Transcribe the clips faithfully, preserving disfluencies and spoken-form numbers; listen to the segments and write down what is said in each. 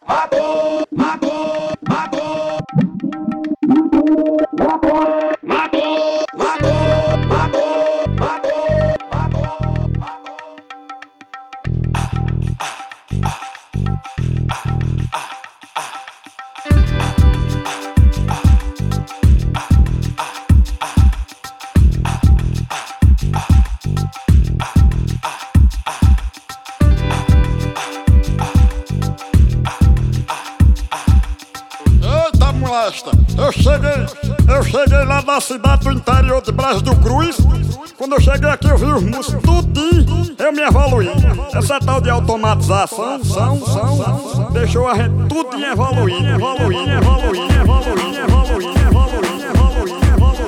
matou, matou, matou, matou, matou, matou, matou, matou, matou. Eu cheguei, eu cheguei lá da cidade do interior de Brás do Cruz. Quando eu cheguei aqui eu vi os músicos tudinho, eu me evoluí. Essa tal de automatização, são, são, são, deixou a gente tudinho evoluindo, evoluindo, evoluindo, evoluindo, evoluindo, evoluindo, evoluindo.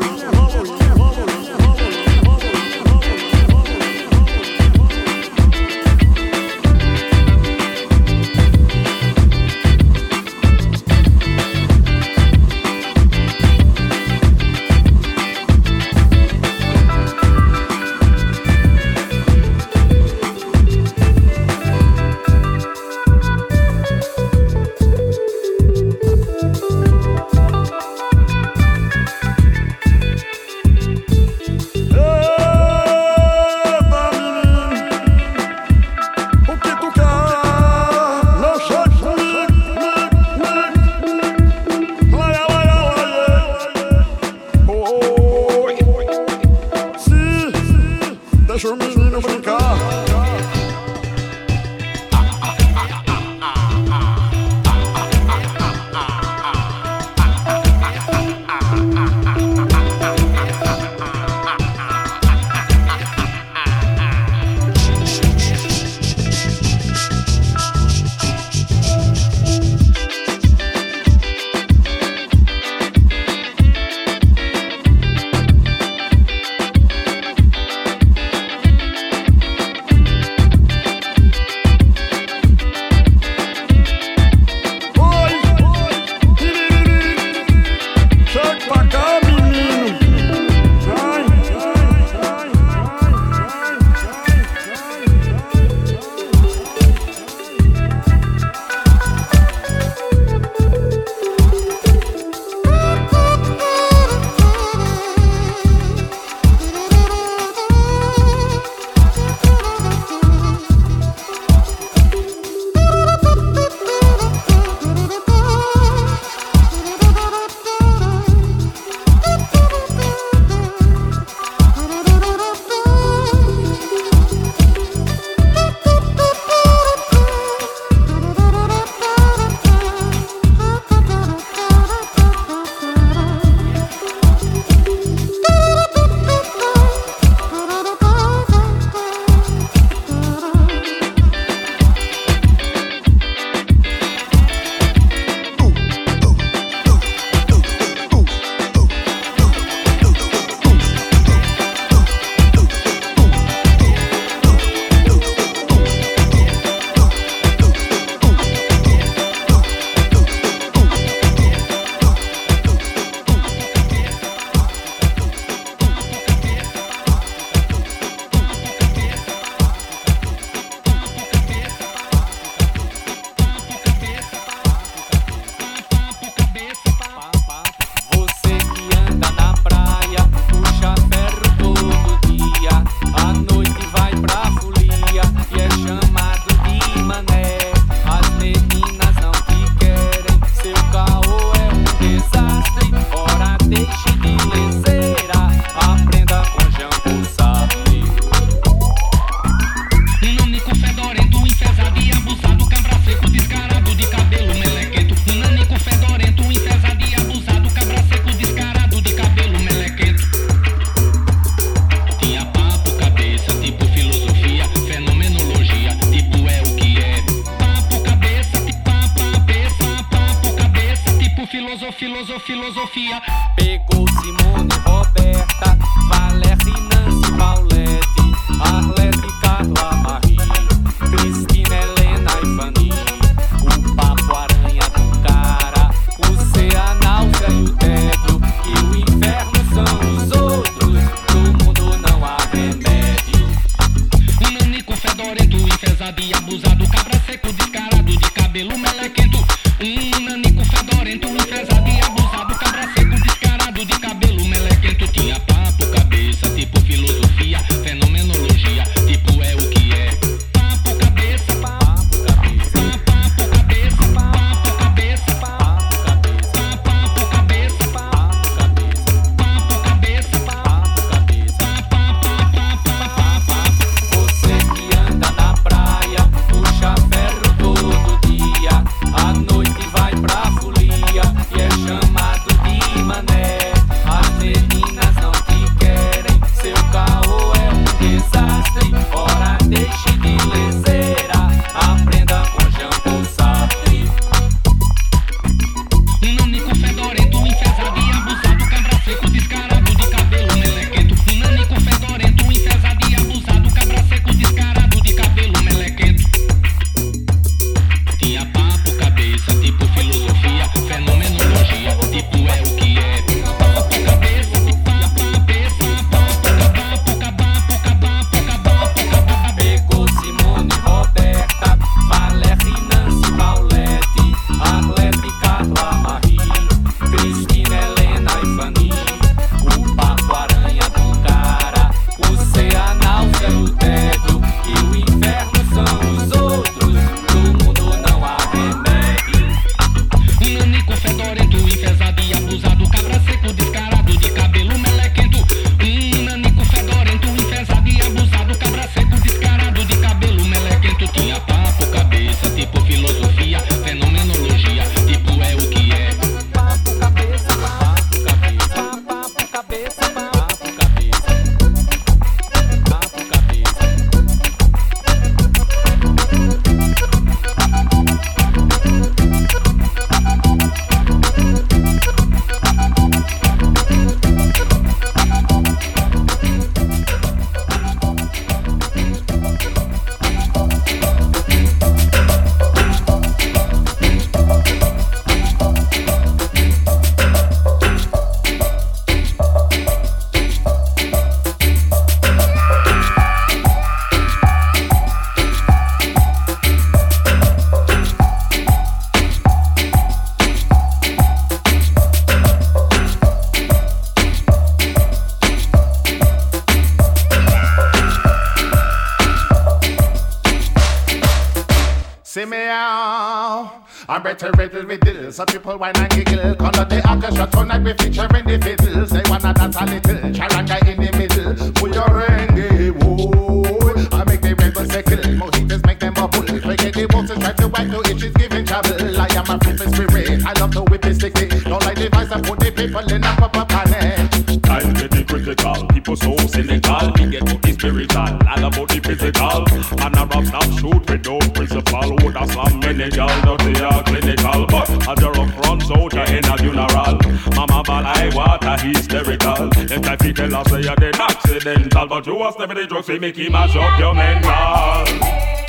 Deixa o menino brincar. Filosofia. Pegou Simone, Roberta, Valéria, Nancy, Paulette, Arlete, Carla, Marie, Cristina, Helena e Fanny. O papo aranha do cara, o ser, a náusea e o tédio, e o inferno são os outros, do mundo não há remédio. Um nanico fedorento, enfesado e abusado, cabra seco, descarado, de cabelo melequento. desastre. Ora deixe de leseira, aprenda com Jean-Paul Sartre. Um nanico fedorento, enfesado e abusado, cabra seco, descarado, de cabelo melequento. Um nanico fedorento, enfesado e abusado, cabra seco, descarado, de cabelo melequento. Tinha papo, cabeça, tipo filosofia, fenomenologia, tipo é o que é. Papo, cabeça, papo, cabeça, papo, cabapo, cabapo, cabapo, cabapo, cabapo. Pegou Simone, Roberta, Valéria, Nancy, Paulette, Arlete, Carla, Marie, Cristina, Helena e Fanny. O papo aranha do cara, o ser a náusea, o tédio e o inferno são os outros. Do mundo não há remédio. Um nanico fedorento, enfesado e abusado, cabra seco, descarado, de cabelo melequento. Um nanico fedorento, enfesado e abusado, cabra seco, descarado, de cabelo melequento. Tinha papo, cabeça, tipo filosofia, fenomenologia, tipo é o que é. Papo cabeça, papo cabeça, papo cabeça, papo cabeça, papo cabeça. See me out. I'm better riddle with dill. Some people whine and giggle. Color the orchestra tonight we featuring the fiddles. They wanna dance a little. Charanga in the middle. Put your rengue, whoa. I make the rebels sickle. Mojitos make them bubble. Forget the waltzes try to whack to itches giving trouble. I am a free spirit. I love to whip it sticky. Don't like the vice and put the people in a proper panic. I'm getting critical, people so cynical. We get to the spiritual, all about the physical. And a rap stop shoot with no principle. Would a slam many gal, dirty or clinical. But a rough runs out your in a funeral. Mama ball I water hysterical. If I feel tell us say you're dead accidental. But you was never the drugs, we make him mash up your mental.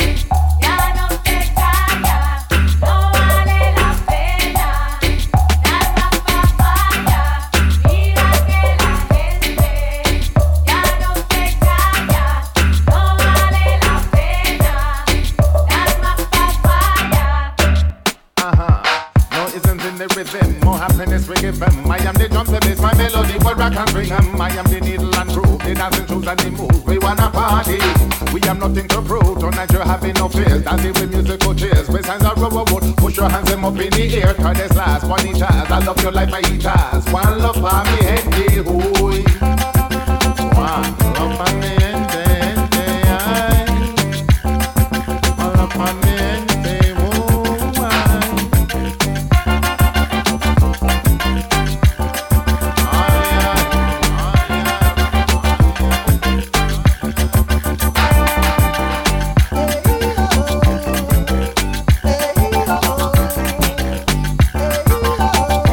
I am the drums that bass, my melody, what rock and bring them. I am the needle and groove, the dancing shoes and the move. We wanna party, we have nothing to prove. Tonight you're having no fears, dancing with musical cheers. With signs of rubber wood, push your hands them up in the air. Cause this last one each has, I love you like my eaters. One love for me, head, hooey. One love for me, head, head, one love for me, head.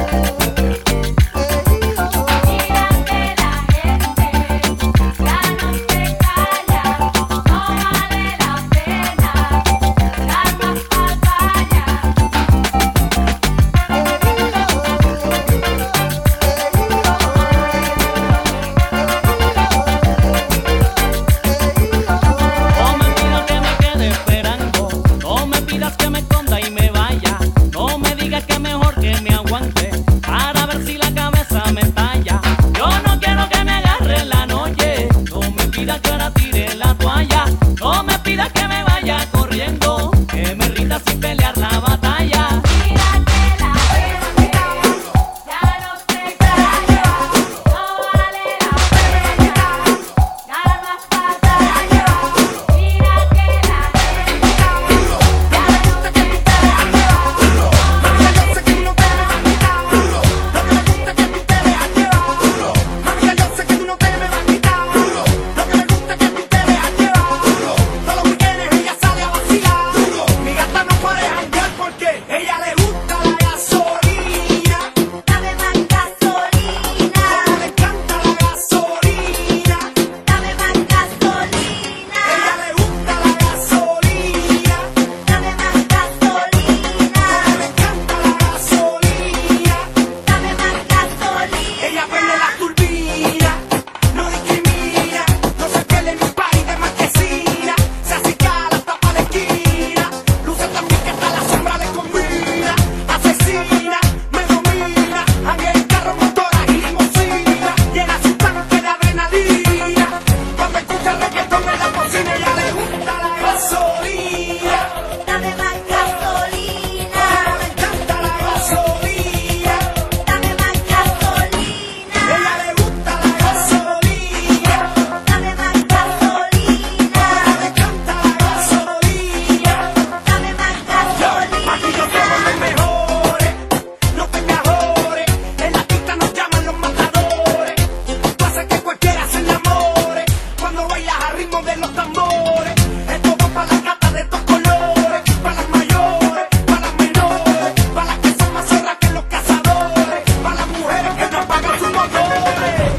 Mira que la gente ritmo de los tambores. Esto va para la gata de estos colores, para las mayores, para las menores, para las que son más zorras que los cazadores, para las mujeres que no pagan sus motores.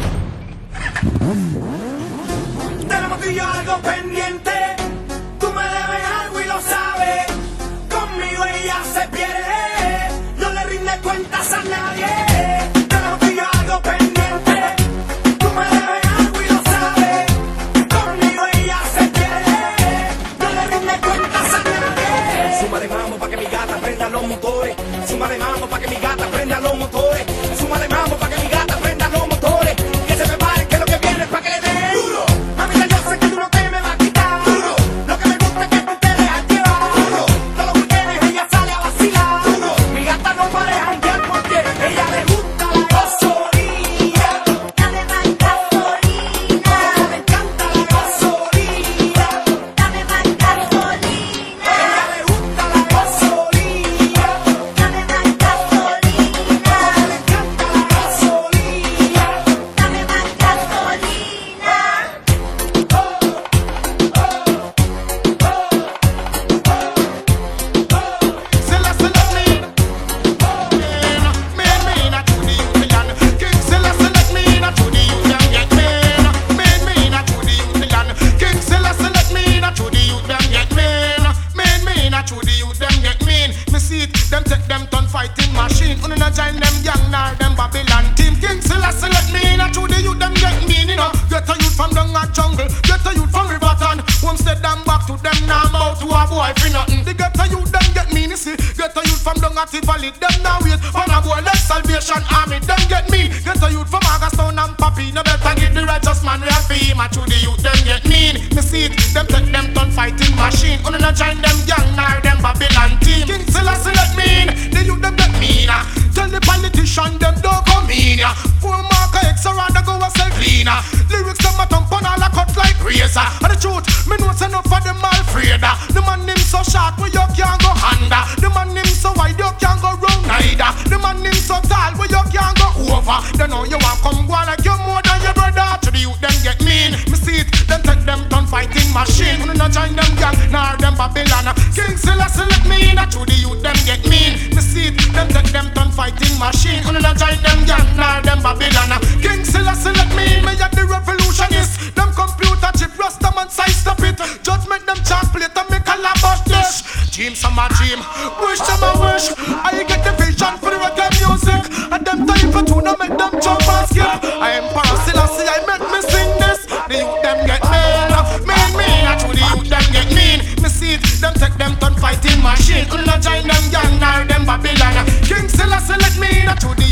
Tenemos tú y yo algo pendiente, tú me debes algo y lo sabes. Conmigo ella se pierde, no le rinde cuentas a nadie. Tenemos tú y yo algo pendiente, tú me debes algo y lo sabes. Conmigo ella se pierde, no le rinde cuentas a nadie. Suma de mambo pa' que mi gata prenda los motores, suma de mambo pa' que mi gata prenda los motores, suma de mambo pa' que mi gata prenda los motores. Que se prepare que lo que viene es pa' que le den duro. Mamita, yo sé que tú no te me vas a quitar duro. Lo que me gusta es que tú te dejas llevar duro. Todo lo que tienes ella sale a vacilar duro. Mi gata no para de janguear porque ella le gusta la gasolina. Dame más gasolina. Ella le encanta la gasolina. Dame más gasolina. Ella le gusta la gasolina. Dame más gasolina. Ella le encanta la gasolina. Dame más gasolina. Them take them ton fighting machine. Uno not join them young nor them Babylon team. King Selassie let me in. To the youth them get mean, you know. Get a youth from down a jungle, get a youth from Riverton. Homestead them back to them now bout to a boy for nothing. The get a youth them get mean, you see. Get a youth from down a Tivoli, them now wait for a boy like Salvation Army. Them get mean. Get a youth from Augustown and Papi. No better give the righteous man real fame. To the youth them get mean. Me see it. Them take them ton fighting machine. Uno not join them young nor them Babylon team. King Selassie let me in. The youth them get mean. Tell the politician them don't come in. Full marker X or rather go a sell cleaner. Lyrics them a thump on all a cut like razor. And the truth, me know it's enough for them all afraid. The man him so short where you can't go under. The man him so wide you can't go round neither. The man him so tall where you can't go over. They know you want come go on like you more than your brother. To the youth them get mean. Me see it, them take them ton fighting machine. Wanna not join them gang nor them Babylon. King Selassie let me in. To the youth them get mean. Me see it, them take them ton fighting machine. Wanna not join them gang nor them Babylon. King Selassie let me in. Me at the revolutionist. Them computer chip rasta man size stop it. Judgment them chocolate and make a labosh dish. Dream some a dream, wish them a wish. I get the vision for the reggae music. And them time for two, no make them jump and skip. I am Selassie, I make me sing this. The youth them get mean, mean, mean. And to the youth them get mean. Me see it, them take them ton fighting machine. Uno join them young nor them Babylon. King Selassie let me in. To the